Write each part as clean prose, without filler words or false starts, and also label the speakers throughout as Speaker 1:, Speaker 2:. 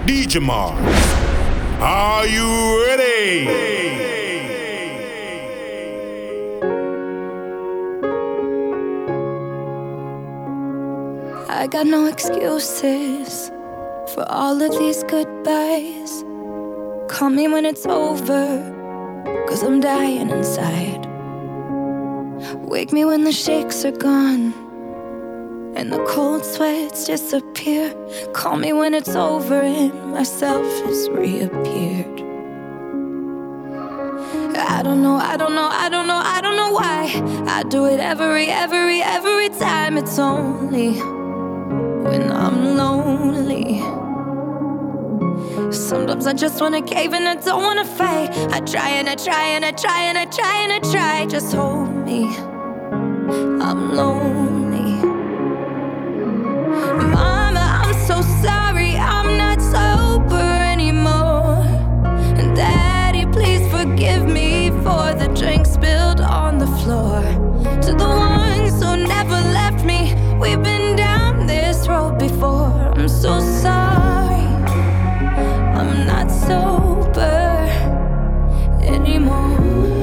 Speaker 1: DJ Mars. Are you ready?
Speaker 2: I got no excuses for all of these goodbyes. Call me when it's over, 'cause I'm dying inside. Wake me when the shakes are gone and the cold sweats disappear. Call me when it's over and myself has reappeared. I don't know why I do it every time. It's only when I'm lonely. Sometimes I just wanna cave and I don't wanna fight. I try and I try and I try and I try and I try. Just hold me, I'm lonely. Mama, I'm so sorry, I'm not sober anymore. And Daddy, please forgive me for the drink spilled on the floor. To the ones who never left me, we've been down this road before. I'm so sorry, I'm not sober anymore.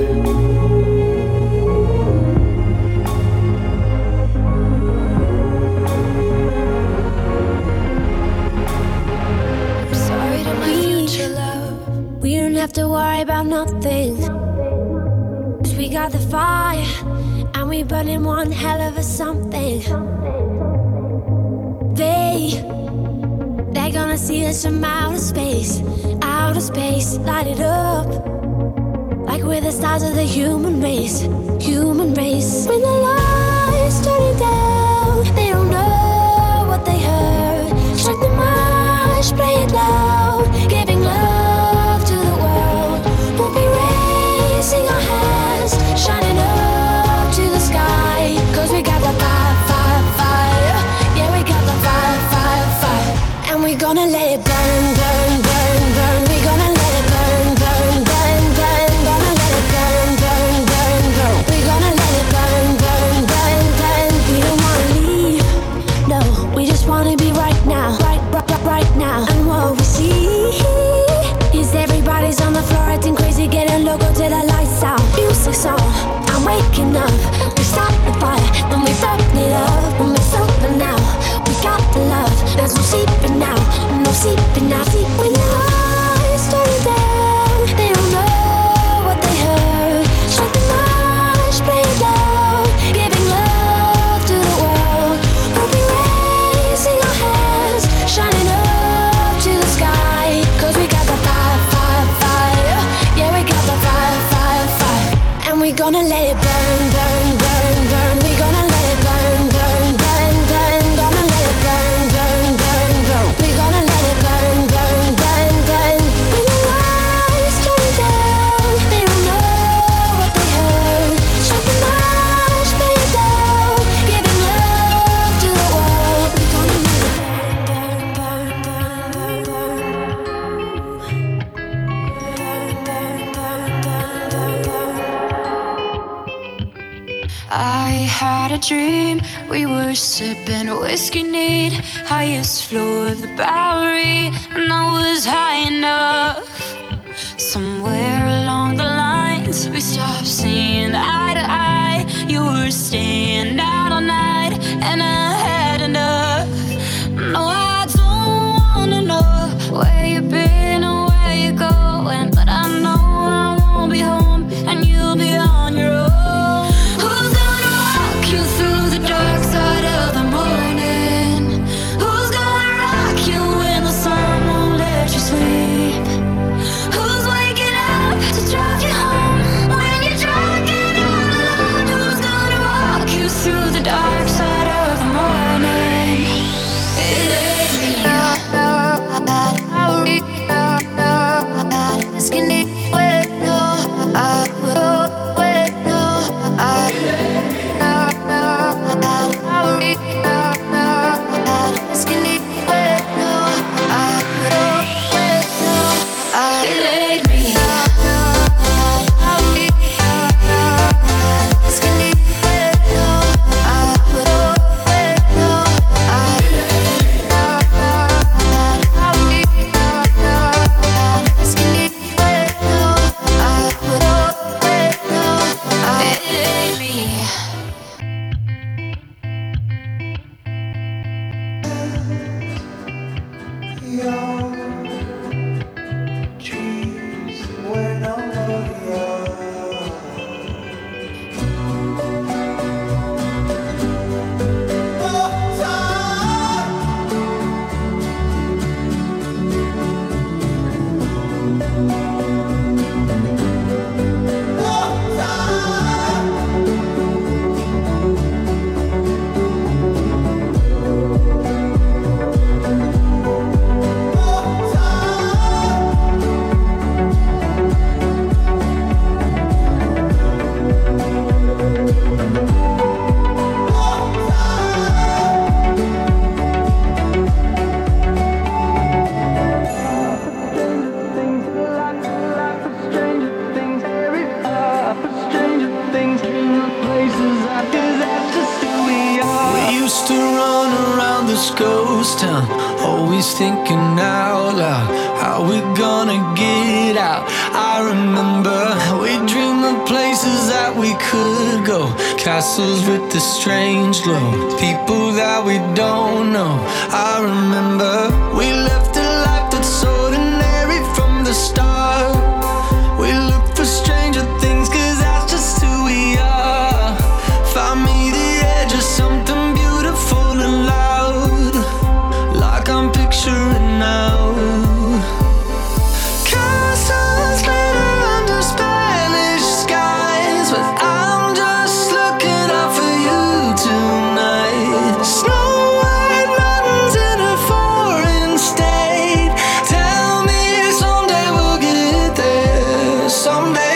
Speaker 2: I'm sorry to my future love.
Speaker 3: We don't have to worry about nothing, 'cause we got the fire and we burning one hell of a something. They're gonna see us from outer space, light it up like we're the stars of the human race. When the lights turning down, they don't know what they heard. Strike the march, play it loud, giving love to the world. We'll be raising our hands, shining up to the sky, 'cause we got the fire. Yeah, we got the fire. And we're gonna let it burn. We're gonna let it burn. Gonna let it burn. We're gonna let it burn. We don't wanna leave, no, we just wanna be right now. Right now. And what we see is everybody's on the floor acting crazy, getting loco till the lights out. Music's on, I'm waking up. We start the fire, then we burn it up. When we're sober now, we got the love. There's no sleeping now, no sleeping now. When the lights turn down, they don't know what they heard. Strike the march, play it loud, giving love to the world. We'll be raising our hands, shining up to the sky, 'cause we got the fire. Yeah, we got the fire. And we're gonna let it burn. We're gonna let it burn. Gonna let it burn. We're gonna let it burn. When the lights turn down, they don't know what they heard. Strike the march, play it loud, giving love to the world. We're gonna let it
Speaker 2: I had a dream, we were sipping whiskey neat, highest floor of the Bowery, and I was high enough. Somewhere along the lines, we stopped seeing eye to eye. You were staying out all night, and I had enough. No, I don't wanna know where you've been or where you're going, but I know I won't be home, and you'll be on your own. Who's gonna walk you through the dark side of the morning? Who's gonna rock you
Speaker 4: always thinking out loud how we're gonna get out. I remember we dreamed of places that we could go, castles with the strange glow, people that we don't know. I remember we left a life that's ordinary from the start. We look for stranger things, 'cause that's just who we are. Find me the edge of something beautiful and loud, like I'm picturing now. Castles glitter under Spanish skies, but I'm just looking out for you tonight. Snow white mountains in a foreign state. Tell me someday we'll get there. Someday.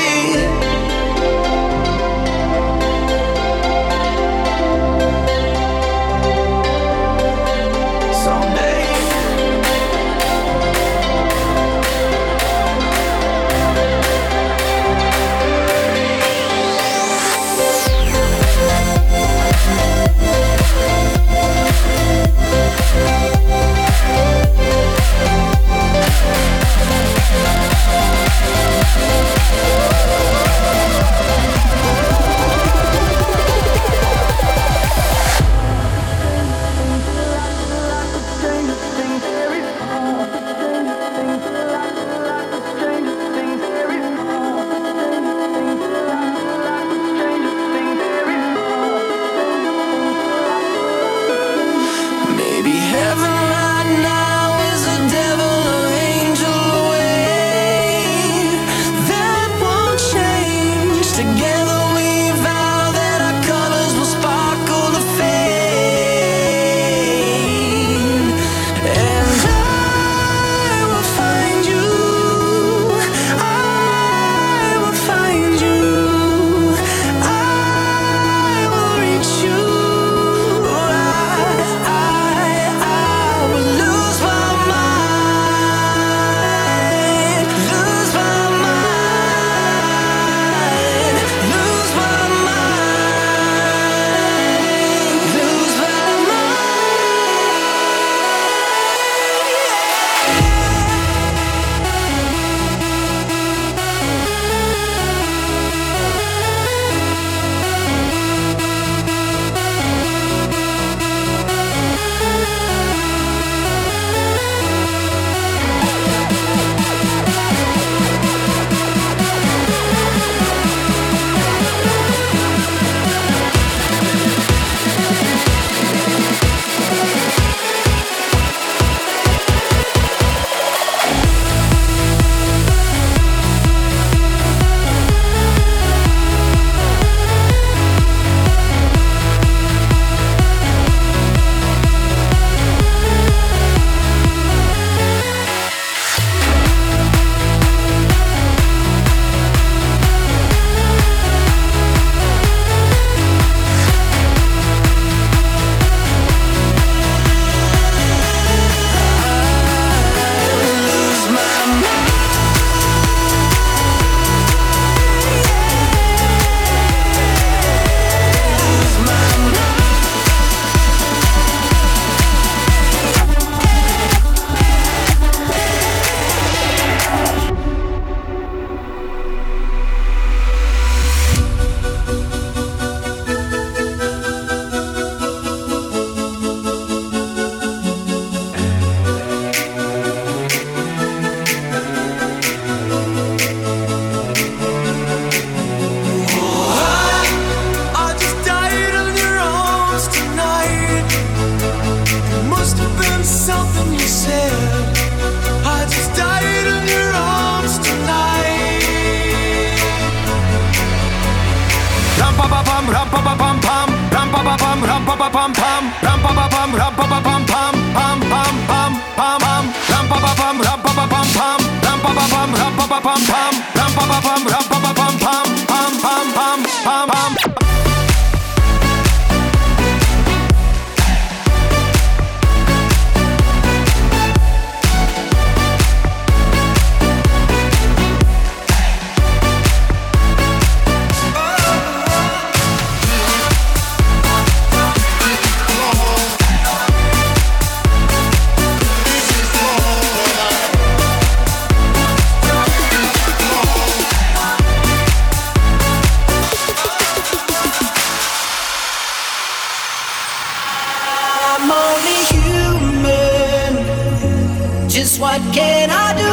Speaker 5: Just what can I do?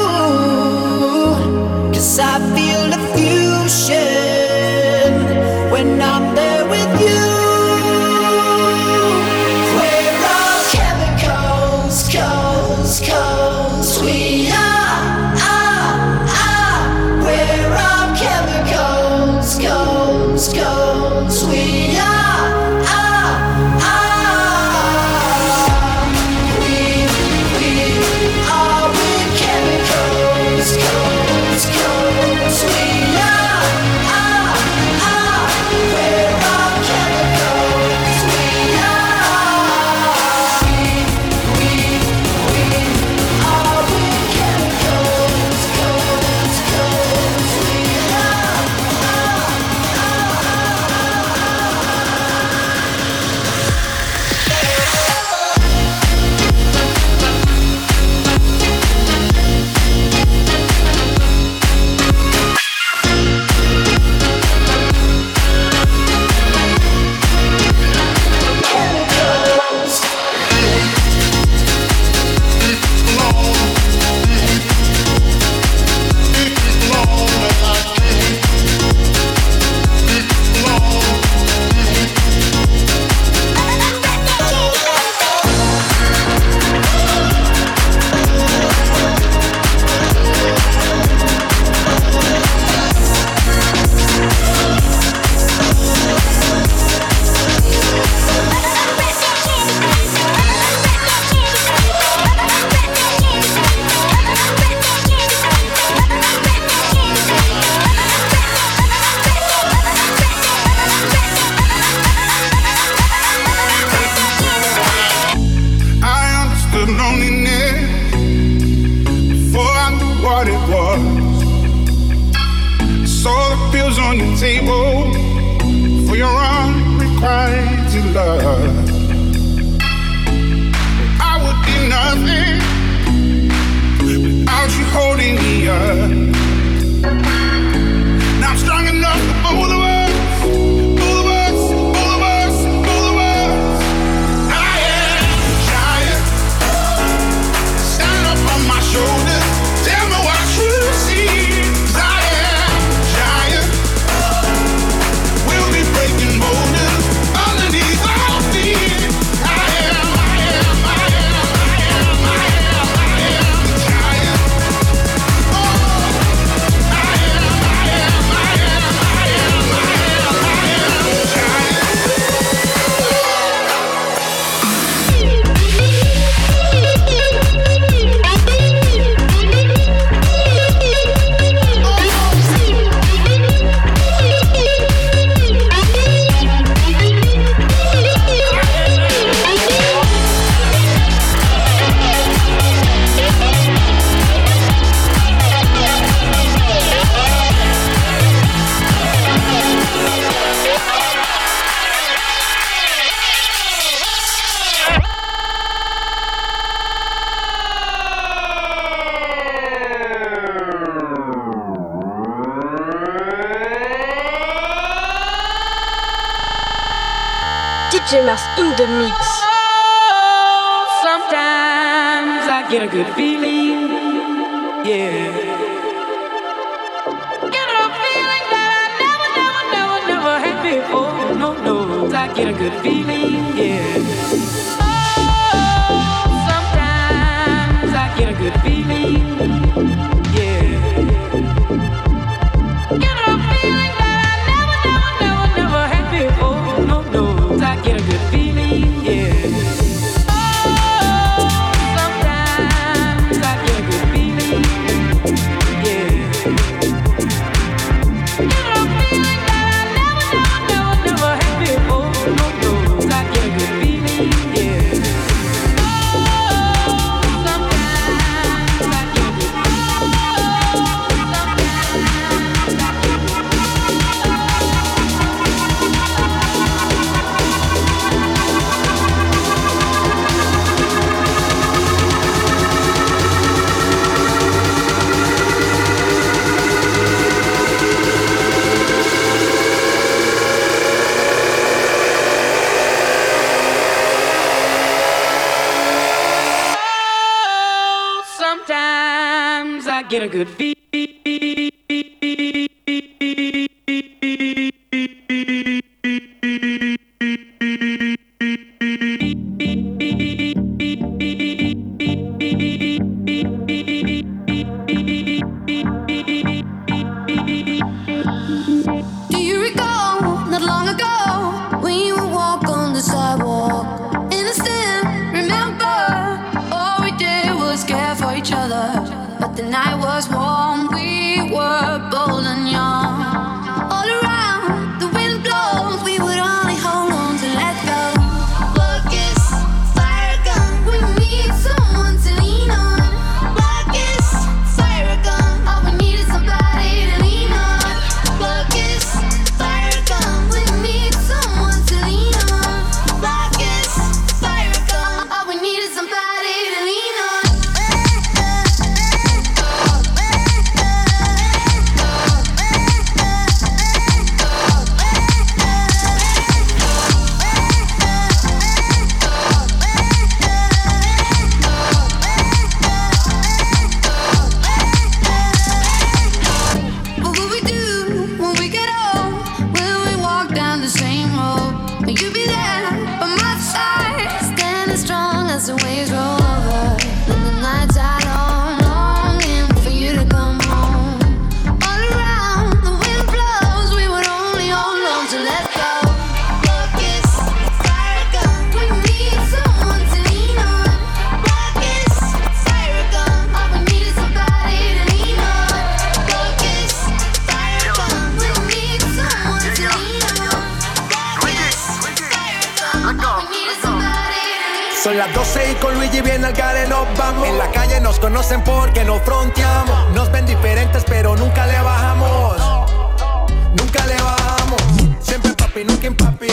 Speaker 5: 'Cause I feel the fusion when I'm there with you. We're all chemicals, we are. We're all chemicals, we are.
Speaker 6: DJ Mars in the mix.
Speaker 7: Sometimes I get a good feeling, yeah. Get a feeling that I never had before. No, I get a good feeling, yeah. Oh, sometimes I get a good feeling, yeah. Get a feeling that I never had before. No, I get a good feeling, yeah. Oh, sometimes I get a good feeling, yeah. Get a feeling that I never had before. No, I get a good feeling. sometimes I get a good feeling.
Speaker 3: Do you recall, not long ago, when you would walk on the sidewalk? Innocent, remember, all we did was care for each other. But the night was warm, we were bold and young. All around, the wind blows, we would only hold on to let go. Focus, fire gun, we need someone to lean on. Focus, fire gun, all we need is somebody to lean on. Focus, fire gun, we need someone to lean on. Focus, fire gun, all we need is somebody to lean on. What will we do when we get old? Will we walk down the same road? Will you be there by my side, standing strong as the waves roll over? And the nights are long, longing for you to come home. All around, the wind blows, we would only hold on to let go. Focus, fire gun, we need someone to lean on. Focus, fire gun, all we need is somebody to lean on. Focus, fire gun, we need someone to lean on. Focus, fire gun, all we need is somebody to lean on.
Speaker 8: Son las 12 y con Luigi viene al gare nos vamos. En la calle nos conocen porque nos fronteamos. Nos ven diferentes pero nunca le bajamos. Nunca le bajamos. Siempre papi, nunca papi.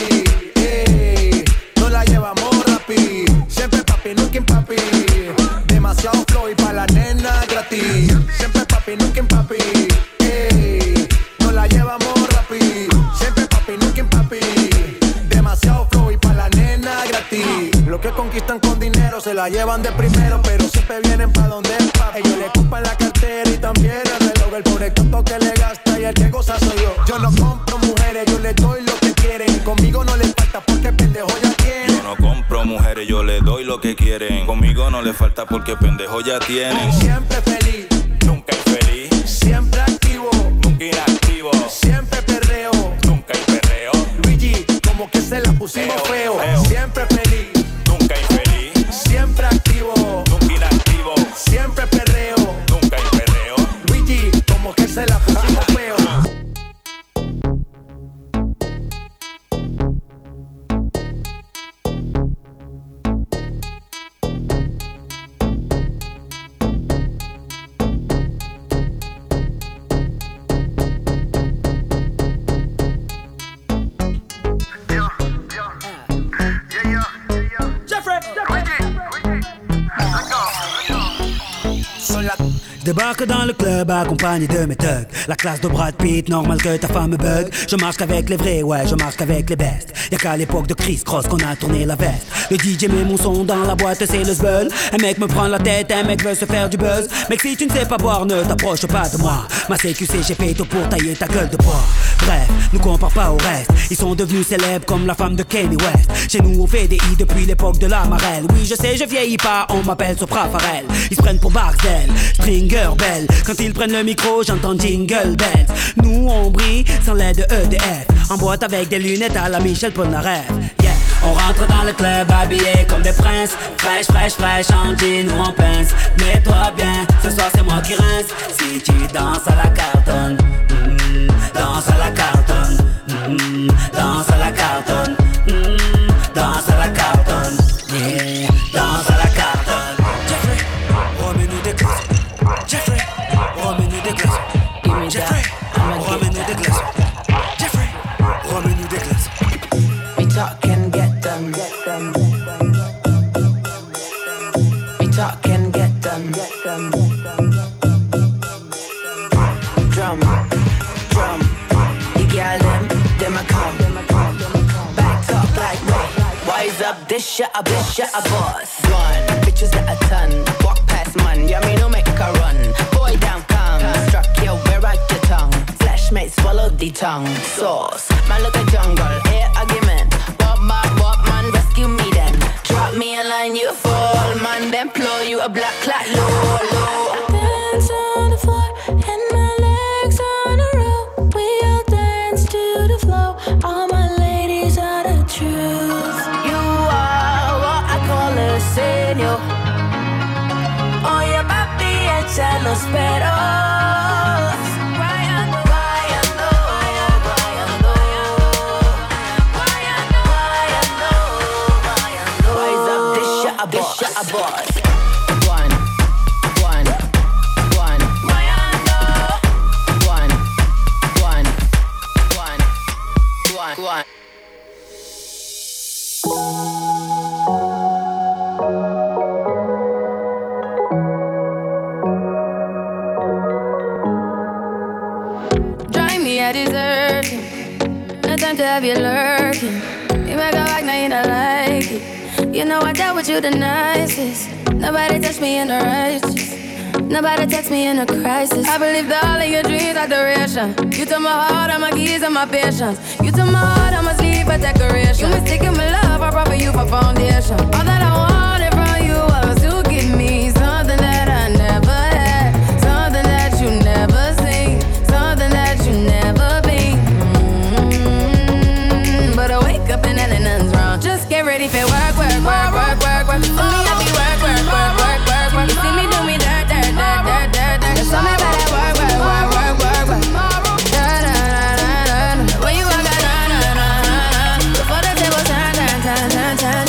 Speaker 8: Ey, no la llevamos rapi. Siempre papi, nunca papi. Demasiado flow y pa' la nena gratis. Siempre papi, nunca papi. Ey, no la llevamos rapi. Siempre papi, nunca papi. Demasiado flow y pa' la nena gratis. Lo que conquistan con dinero se la llevan de primero, pero siempre vienen pa' donde es papi. Ellos le ocupan la cartera y también el reloj. El pobre tonto que le gasta y el que goza soy yo. Yo no compro mujeres, yo les doy lo que quieren. Conmigo no les falta porque pendejo ya tienen.
Speaker 9: Yo no compro mujeres, yo les doy lo que quieren. Conmigo no les falta porque pendejo ya tienen.
Speaker 8: Siempre feliz,
Speaker 9: Nunca infeliz,
Speaker 8: siempre activo,
Speaker 9: nunca inactivo.
Speaker 8: siempre perreo.
Speaker 9: Nunca hay perreo,
Speaker 8: Luigi, como que se la pusimos feo. Siempre feliz,
Speaker 9: nunca infeliz,
Speaker 8: siempre activo,
Speaker 9: nunca inactivo.
Speaker 8: siempre perreo.
Speaker 9: Nunca hay perreo.
Speaker 8: Luigi, como que se la pusimos feo.
Speaker 10: Débarque dans le club accompagné de mes thugs. La classe de Brad Pitt, normal que ta femme bug. Je marche qu'avec les vrais, ouais, je marche qu'avec les bestes. Y'a qu'à l'époque de Chris Cross qu'on a tourné la veste. Le DJ met mon son dans la boîte, c'est le zbeul. Un mec me prend la tête, un mec veut se faire du buzz. Mec, si tu ne sais pas boire, ne t'approche pas de moi. Ma CQC, j'ai fait tout pour tailler ta gueule de bois. Bref, nous compare pas au reste. Ils sont devenus célèbres comme la femme de Kanye West. Chez nous, on fait des i depuis l'époque de la marelle. Oui, je sais, je vieillis pas, on m'appelle Sopra Farel. Ils se prennent pour Barcel, Stringer Bell. Quand ils prennent le micro, j'entends Jingle Bells. Nous, on brille sans l'aide de EDF. En boîte avec des lunettes à la Michel Polnareff. Yeah. On rentre dans le club habillé comme des princes. Fraîche, fraîche, fraîche, en jean ou en pince. Mets-toi bien, ce soir c'est moi qui rince. Si tu danses à la cartonne, danse à la cartonne, danse à la cartonne, danse à la cartonne, yeah, danse à la cartonne. Jeffrey, remets-nous des glaces. Jeffrey, remets-nous des glaces. Jeffrey, remets-nous des glaces. Jeffrey, remets-nous des glaces.
Speaker 11: We talk and get them. We talk and get them. Drum, drum. The girl them a come. Back up like me. Wise up, this shit a boss. One, bitches that a ton. Walk past man, yeah me know tongue sauce. Man, look at jungle, air argument. What man, rescue me then. Drop me a line, you fall, man, then blow you a black clot, low, low.
Speaker 3: Dance on the floor and my legs on a roll. We all dance to the flow. All my ladies are the truth.
Speaker 11: You are what I call a señor. Oye papi, echa los peros. Guayando, guayando, guayando, guayando, guayando. Rise up, this shit a boss. One. Guayando. One.
Speaker 2: Drive me a desertion. No time to have you lurking. You make a back, now you don't like it. You know I dealt with you the nicest. Nobody touched me in the righteous. Nobody text me in a crisis. I believed all of your dreams are duration. You took my heart, all my keys, and my patience. You took my heart, I must leave for decoration. You mistaken my love, I brought for you for foundation. All that I wanted from you was to give me something that I never had, something that you never seen, something that you never been. But I wake up and nothing's wrong. Just get ready for work. For me, I be work. You see me do me dirt. Just tell me about that work. When you walk out, before the table turn.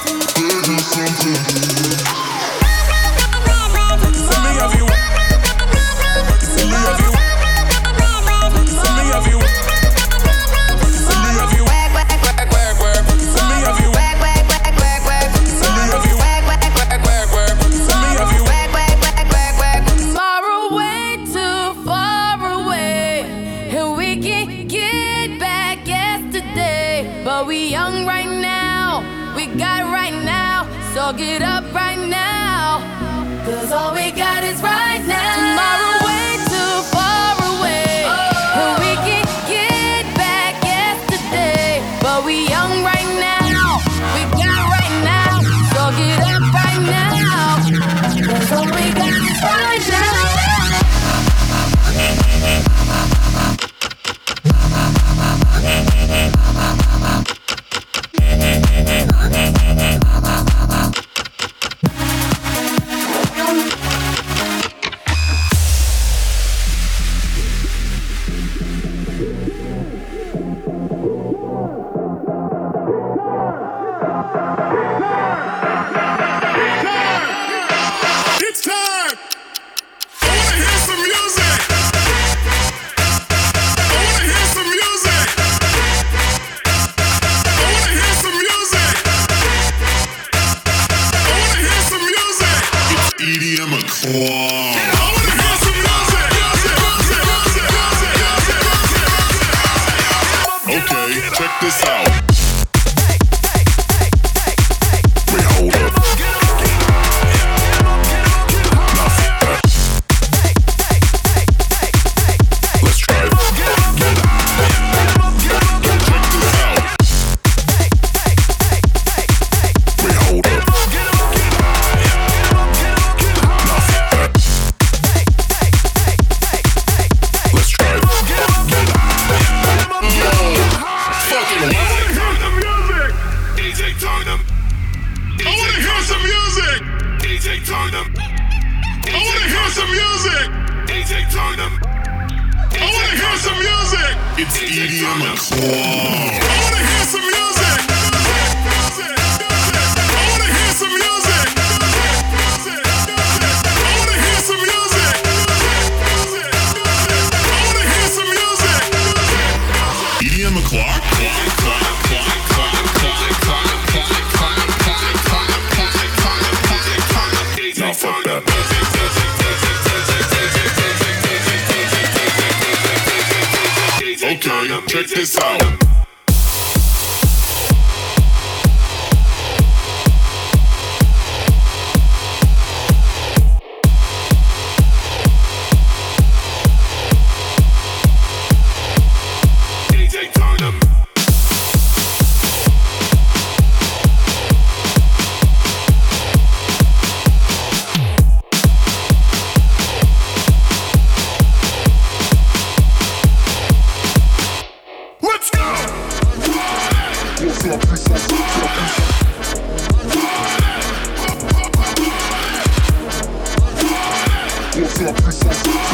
Speaker 2: So get up right now, 'cause all we got is right now. Tomorrow way too far away, and we can get back yesterday. But we young right now, we got right now. So get up right now, 'cause all we got is right now.
Speaker 1: Check this out. c'est la puissance,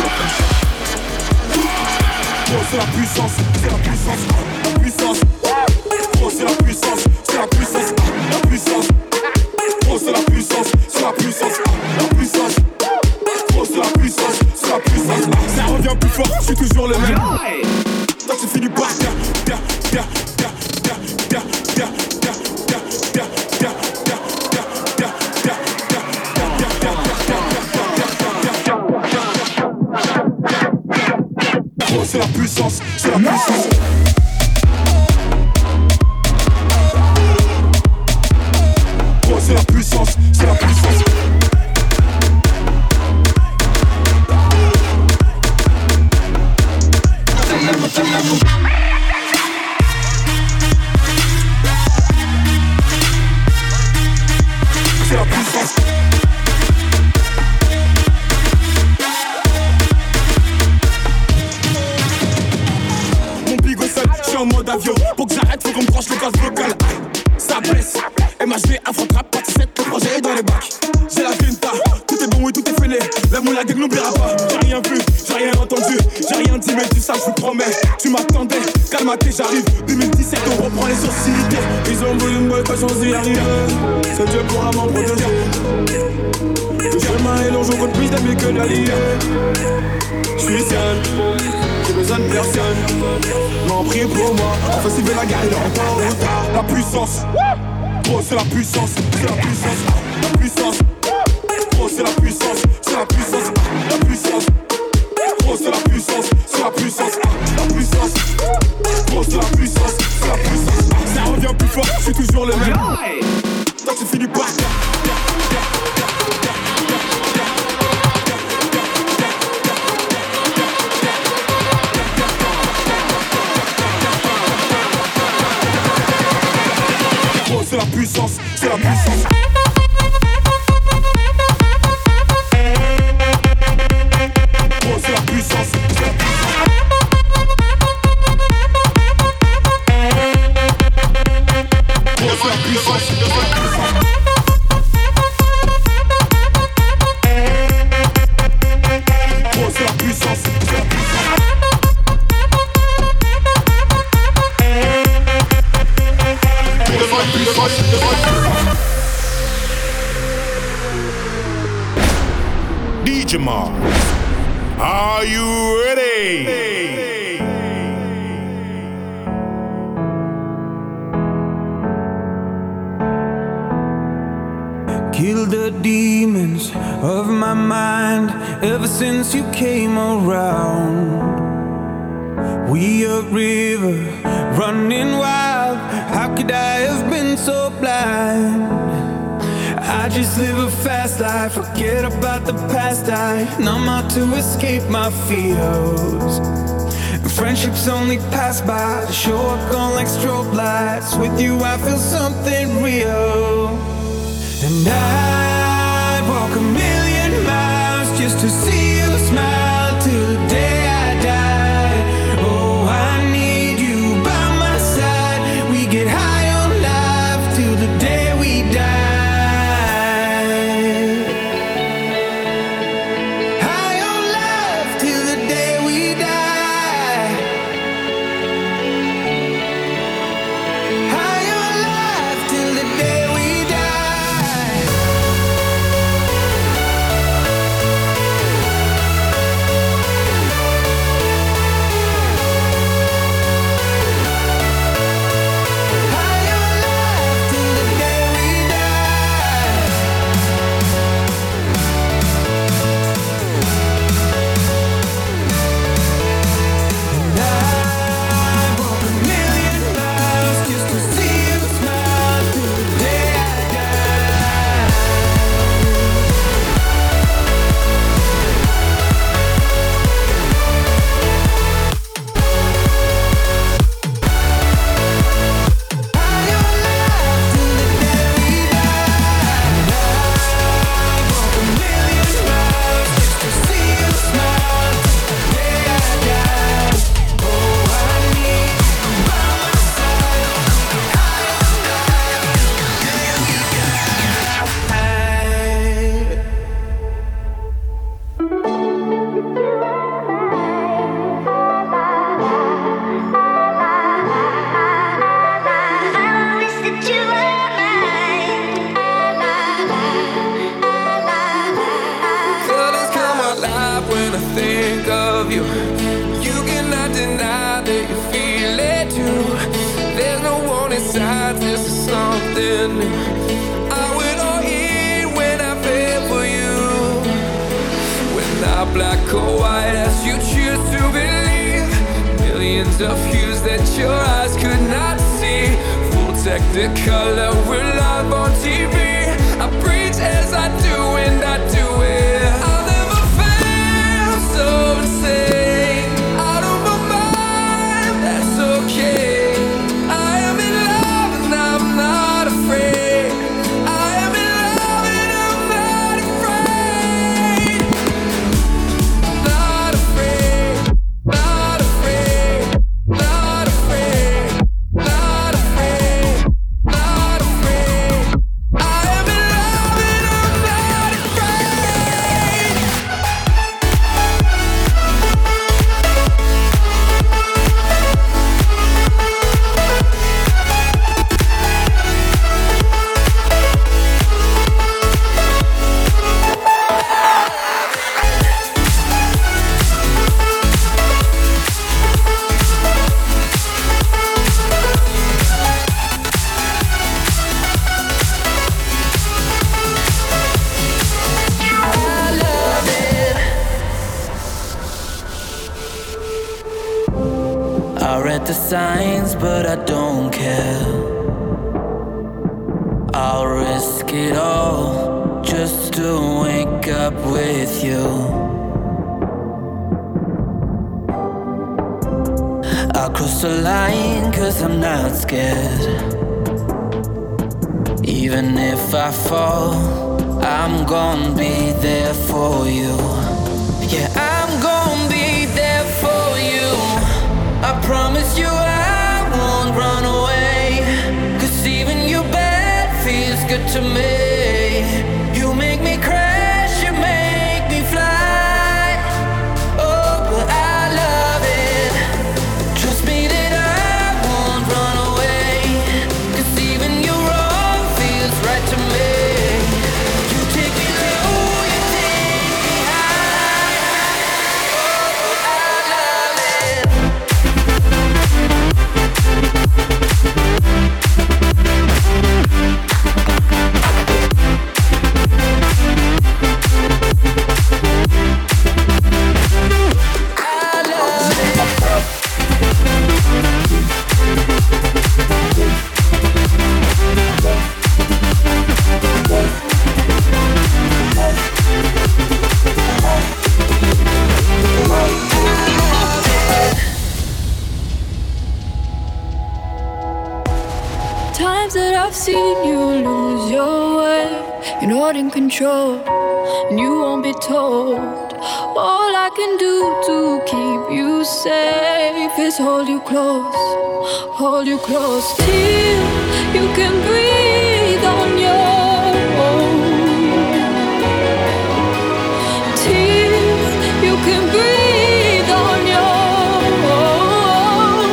Speaker 1: c'est la puissance, c'est la puissance, la puissance. Oh, c'est la puissance, c'est la puissance, la puissance. Oh, c'est la puissance, c'est la puissance, la puissance. Oh, c'est la puissance, c'est la puissance. Ça revient plus fort, je suis toujours le même. Toi, tu finis par Oh, c'est la puissance, c'est la puissance. Oh, c'est la puissance, c'est la puissance. C'est la puissance. Mon bigot seul, je suis en mode avion. Pour que j'arrête, faut qu'on me branche le gaz vocal. Ça blesse, MHD, Afro-Trap, partie 7, le projet est dans les bacs. J'ai la grinta, tout est bon, oui, tout est fêlé. La moula gang n'oubliera pas, j'ai rien vu, j'ai rien entendu. J'ai rien dit, mais dis ça, je vous promets. Tu m'attendais, calme-toi, j'arrive. 2017, on reprend les hostilités. Ils ont voulu me boycotter, j'en suis arrivé. C'est Dieu pourra m'en protéger. Le chemin est long, je compte plus d'amis que d'alliés. J'suis seul, j'ai besoin de personne. M'en prie pour moi, enfin s'il veut la guerre, il est encore en retard. La puissance, oh c'est la puissance, c'est la puissance, la puissance. Oh c'est la puissance, c'est la puissance, la puissance. Oh c'est la puissance, c'est la puissance, la puissance. Oh c'est la puissance, c'est la puissance. Ça revient plus fort, je suis toujours le même. Toi tu finis par c'est la puissance, c'est la puissance. Oh, c'est la puissance, c'est la puissance. Oh, c'est la puissance, c'est la puissance. Oh, c'est la puissance, c'est la puissance.
Speaker 12: DJ Mars, are you ready?
Speaker 4: Kill the demons of my mind ever since you came around. We a river running wild. How could I have been so blind? I just live a fast life, forget about the past. I numb out to escape my fears. Friendships only pass by, show up gone like strobe lights. With you I feel something real. And I'd walk 1,000,000 miles just to see you smile till the day I die. Oh, I need you by my side. We get high on life till the day we die. alive when I think of you. You cannot deny that you feel it too. There's no warning signs, this is something new. I will all in when I feel for you. When not black or white as you choose to believe. Millions of hues that your eyes could not see. Full technicolor, we're live on TV. I preach as I do and I do it. I'll never fail, so insane. Out of my mind, that's okay. I am in love and I'm not afraid. I am in love and I'm not afraid. Not afraid, not afraid, not afraid, not afraid, not afraid. I am in love and I'm not afraid.
Speaker 13: I read the signs, but I don't care. I'll risk it all just to wake up with you. I'll cross the line 'cause I'm not scared. Even if I fall, I'm gonna be there for you. Yeah, I'm gonna be there for you. I promise you I won't run away. 'Cause even your bed feels good to me. You make me crash, you make me fly. Oh, but I love it. Trust me that I won't run away. 'Cause even your wrong feels right to me. You take me low, you take me high. Oh, but I love it.
Speaker 2: Times that I've seen you lose your way, you're not in control, and you won't be told. All I can do to keep you safe is hold you close till you can breathe on your own. Till you can breathe on your own.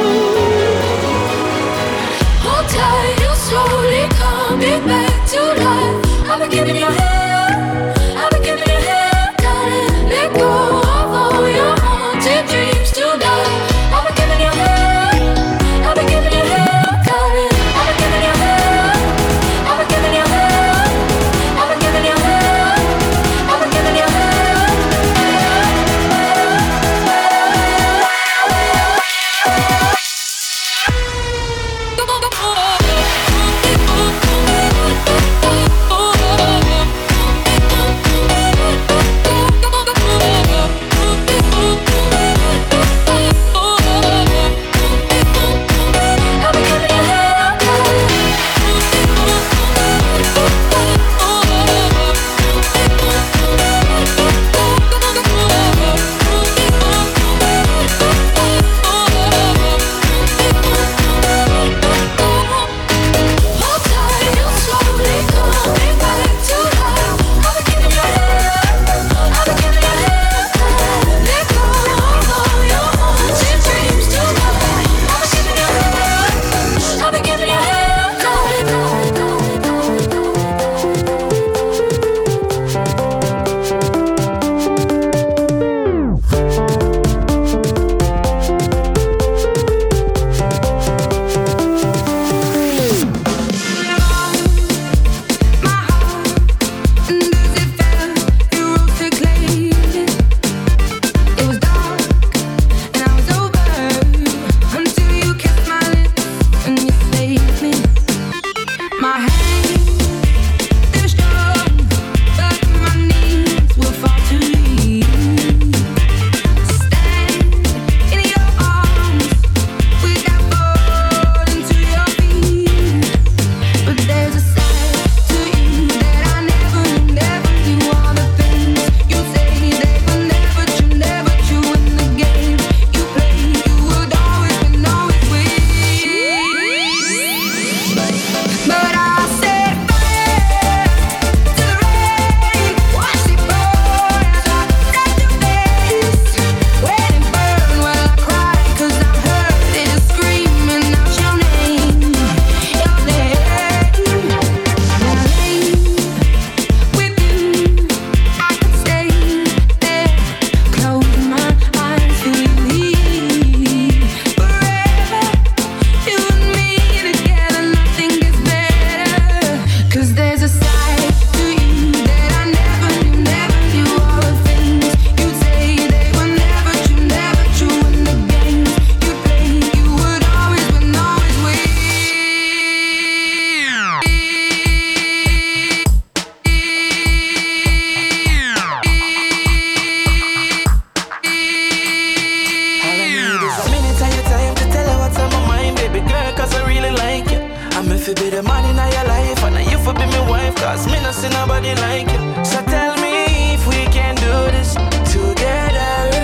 Speaker 2: Hold tight, you'll slowly coming back to life. I've been giving you hell, I've been giving you hell. Gotta let go of all your haunted dreams tonight. I've been giving you hell, I've been giving you hell. Gotta, I've been giving you hell, I've been giving you
Speaker 13: fi be the man in your life, and you fi be my wife, cause me not see nobody like you. So tell me if we can do this together.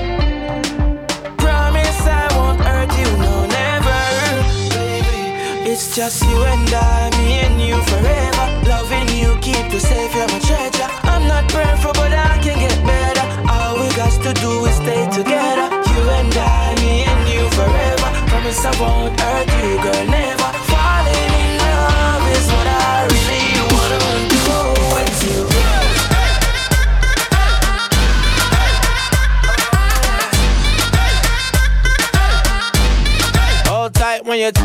Speaker 13: Promise I won't hurt you, no never. Baby, it's just you and I, me and you forever. Loving you, keep you safe, you're my treasure. I'm not perfect, but I can get better. All we got to do is stay together. You and I, me and you forever. Promise I won't hurt you, girl, never. Falling in love is what I really wanna do with you. Hold tight when you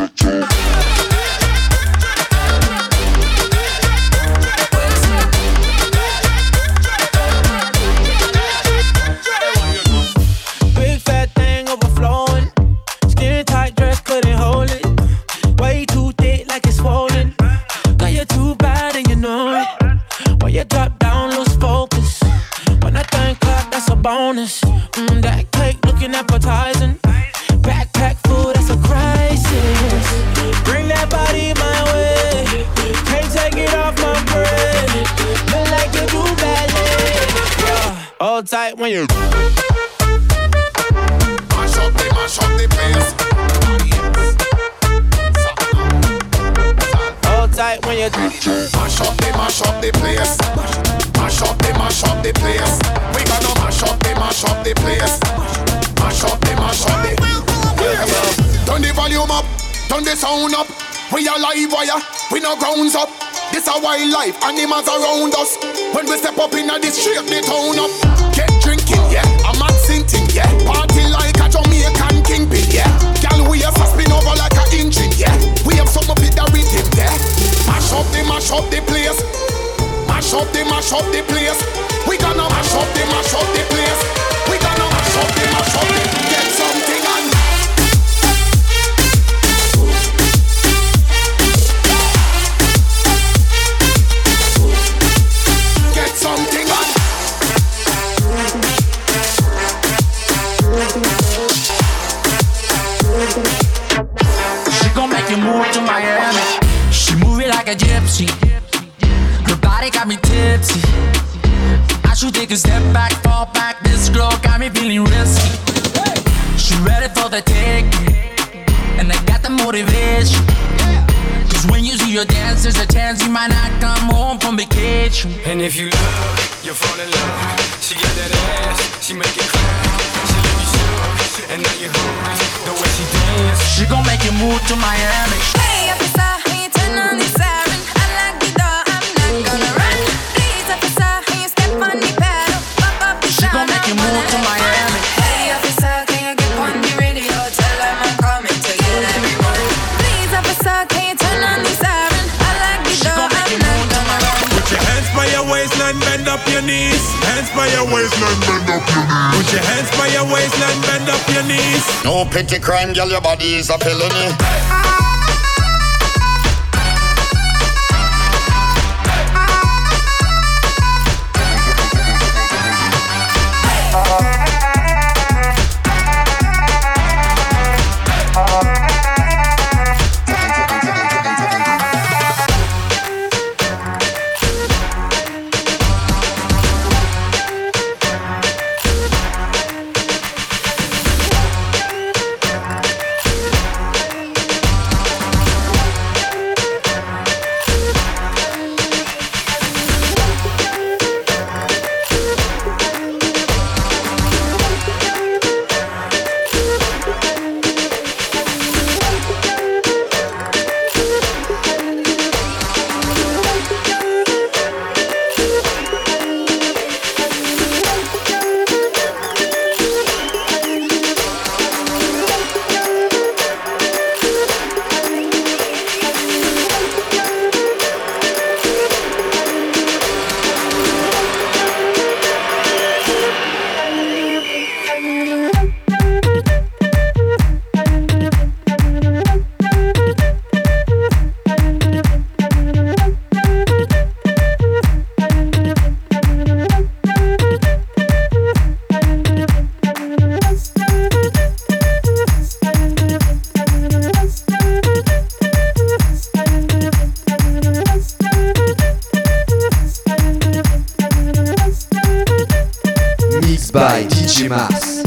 Speaker 13: big fat thing overflowing. Skin tight dress couldn't hold it. Way too thick like it's swollen. Girl, you're too bad and you know it. When you drop down, lose focus. When I think clap, that's a bonus. That cake looking appetizing. Backpack food, that's a crisis. Bring that body my way. Can't take it off my brain. Feel like you do ballet. Hold tight when you
Speaker 12: mash up the place.
Speaker 13: hold tight when you
Speaker 12: Mash up the place. Mash up the place. We gonna mash up the place. Mash up the turn the volume up, turn the sound up. We are live wire, we no grounds up. This a wildlife, animals around us. When we step up in the street, they town up. Get drinking, yeah, a mad sinting, yeah. Party like a Jamaican kingpin, yeah. Girl, we are spin over like a engine, yeah. We have some up with the rhythm, yeah. Mash up the place. Mash up the place. We gonna mash up the place. We gonna mash up the get something on. Get something on.
Speaker 14: She gon' make you move to Miami. She move it like a gypsy. Her body got me tipsy. I should take a step back, fall back. This girl got me feeling risky. She ready for the taking, and I got the motivation. Cause when you see her dance, there's a chance you might not come home from vacation.
Speaker 15: And if you love, you fall in love. She got that ass, she make it clap. She leave you shook, and now you hooked. The way she dance,
Speaker 14: she gon' make you move to Miami.
Speaker 16: Hey, officer, when you turn on the siren, I lock the door, I'm not gonna run. Please, officer, when you step on the pedal, pop up the
Speaker 14: she gon' make you move to Miami.
Speaker 16: Hey, officer, can you get on the radio? Tell them I'm coming to get everyone. Please, officer, can you turn on the siren? I lock the door, I'm not gonna run.
Speaker 1: Put your hands by your waistline, bend up your knees. Hands by your waistline, bend up your knees. Put your hands by your waistline, bend up your knees.
Speaker 17: No petty crime, girl, your body is a felony.
Speaker 18: Mixed by DJ Mars.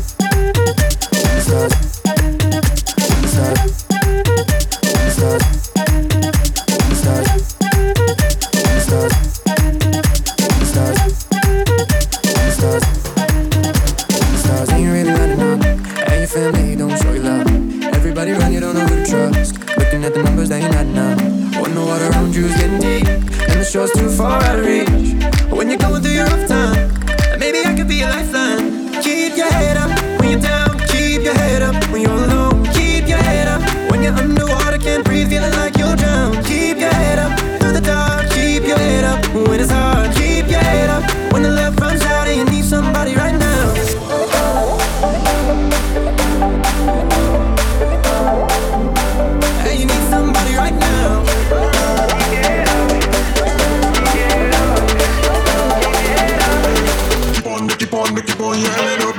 Speaker 19: Show's too far out of reach. When you're going through your rough time, maybe I could be a lifeline. Keep your head up when you're down. Keep your head up when you're alone. Keep your head up when you're underwater, can't breathe, feeling like you'll drown. Keep your head up through the dark. Keep your head up when it's hard. Keep your head up when the love runs out and you need somebody right now. Hey, you need somebody right now. Keep on your head up.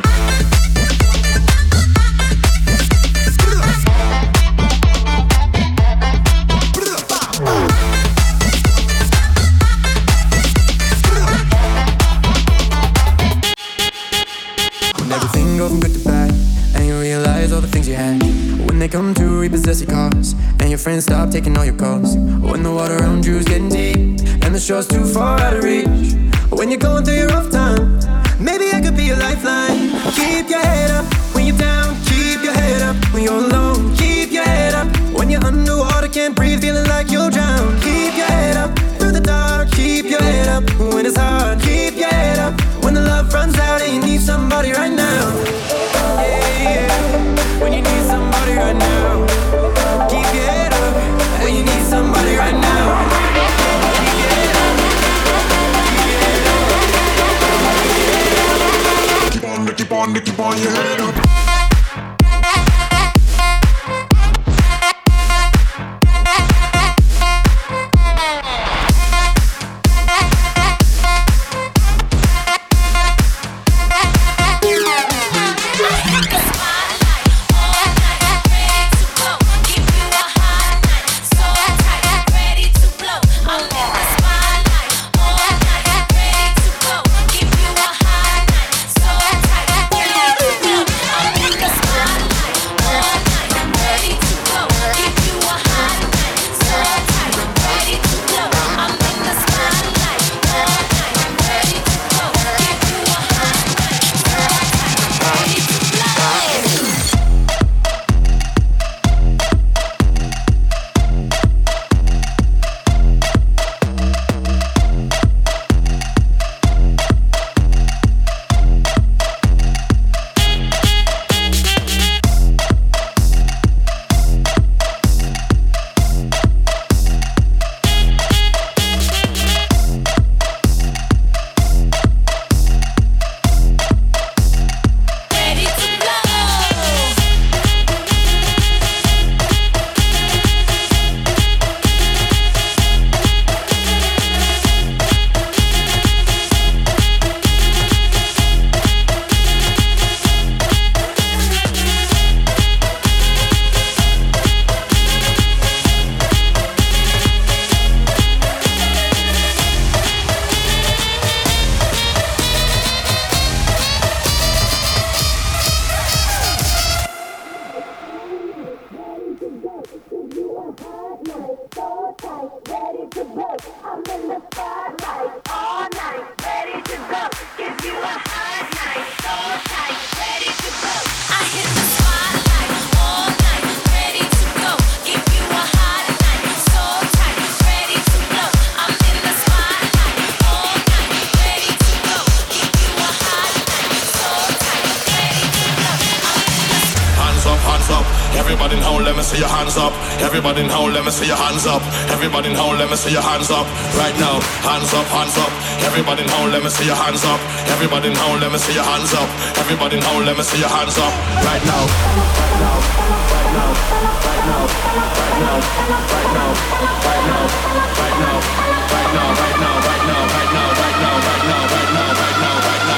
Speaker 19: When everything goes from good to bad, and you realize all the things you had. When they come to repossess your cars, and your friends stop taking all your calls. When the water around you is getting deep, and the shore's too far out of reach. When you're going through your rough time, maybe I could be a lifeline. Keep your head up when you're down. Keep your head up when you're alone. Keep your head up when you're underwater, can't breathe, feeling like you'll drown. Keep your head up through the dark. Keep your head up when it's hard. Keep your head up when the love runs out and you need somebody right now. Yeah, yeah. When you need somebody right now. Keep your head up when you need somebody right now. Keep on your head up.
Speaker 20: Everybody in home, let me see your hands up. Everybody in home, let me see your hands up. Everybody in home, let me see your hands up. Right now, hands up, hands up. Everybody in home, let me see your hands up. Everybody in home, let me see your hands up. Everybody in home, let me see your hands up. Right now, right now, right now, right now, right now, right now, right now, right now, right now, right now, right now, right now, right now, right now, right now, right now, right now.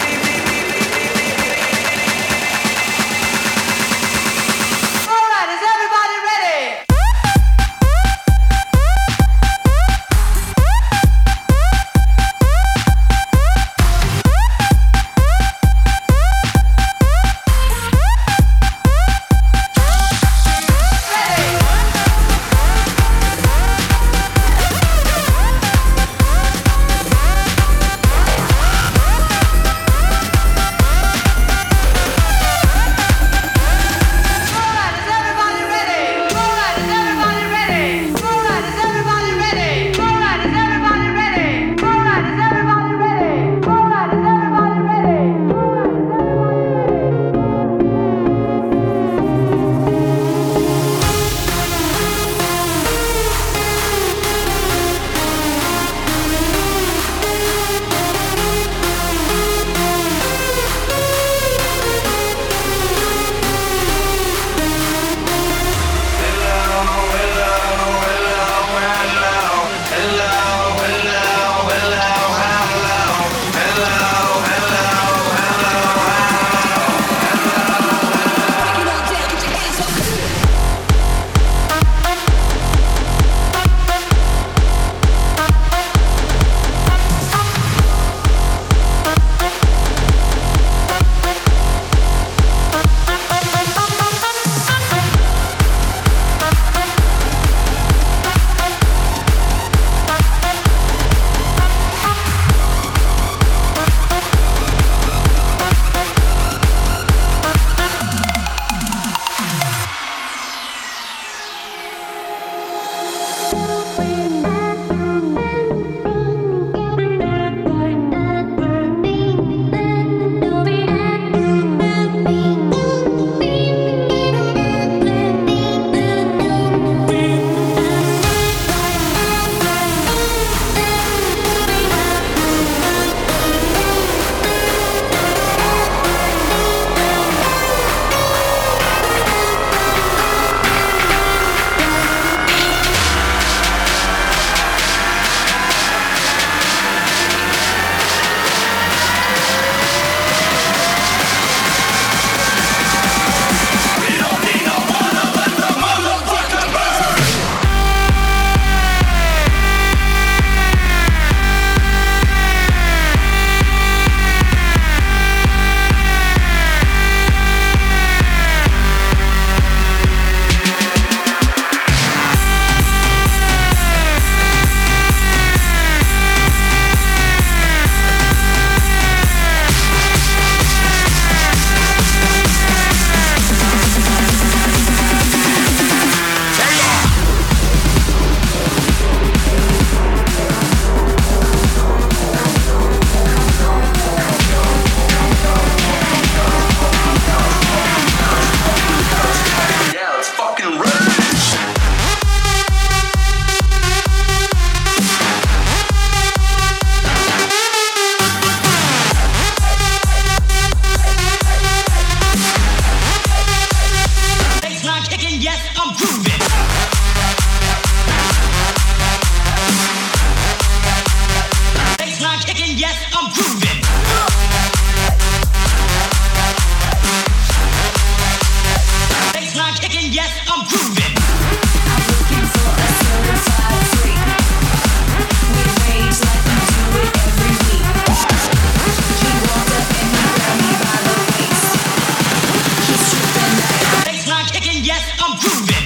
Speaker 14: yes, I'm grooving. Baseline kicking, yes, I'm grooving. I'm looking for a certified freak. We rage like we do it every week. He walked up and he grabbed me by the waist. He's tripping. Baseline kicking, yes, I'm grooving.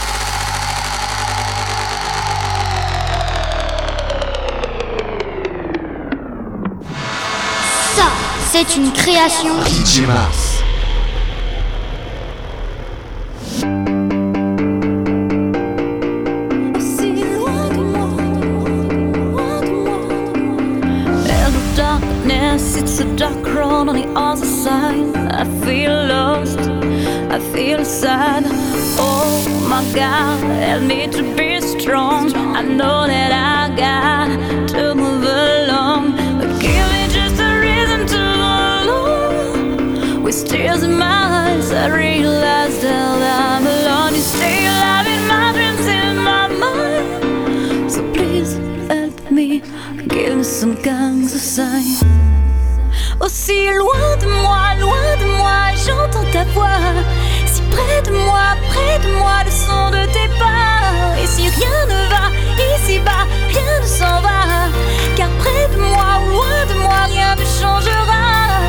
Speaker 6: Ça, c'est une création
Speaker 18: DJ Mars.
Speaker 2: It's a dark road on the other side. I feel lost, I feel sad. Oh my God, help me to be strong. I know that I got to move along, but give me just a reason to alone. With tears in my eyes, I realize that I'm alone. You stay alive in my dreams, in my mind. So please help me, give me some kinds of sign. Aussi loin de moi, j'entends ta voix. Si près de moi, le son de tes pas. Et si rien ne va, ici-bas, rien ne s'en va. Car près de moi ou loin de moi, rien ne changera.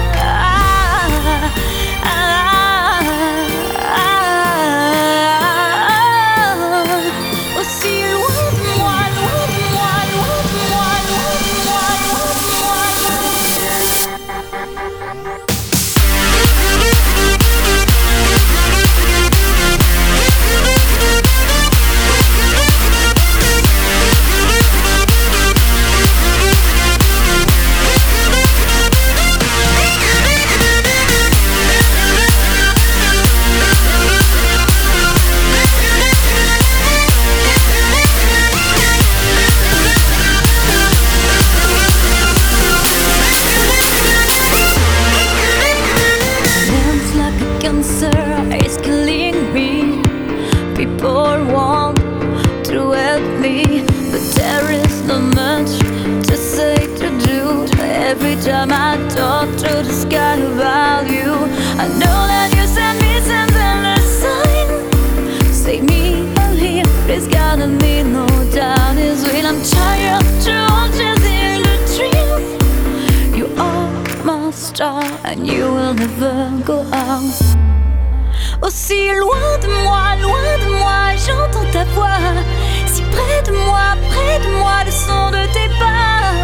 Speaker 2: Aussi loin de moi, loin de moi, loin de moi, loin de moi, loin de moi. It's killing me. People want to help me, but there is not much to say, to do. Every time I talk to the sky about you, I know that you send me signs and a sign. Save me, I'm here, please gotta me, no doubt is real. I'm tired to hold just in the dream. You are my star and you will never go out. Aussi loin de moi, j'entends ta voix. Si près de moi, le son de tes pas.